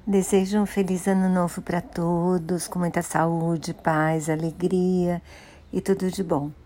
Desejo um feliz ano novo para todos, com muita saúde, paz, alegria e tudo de bom.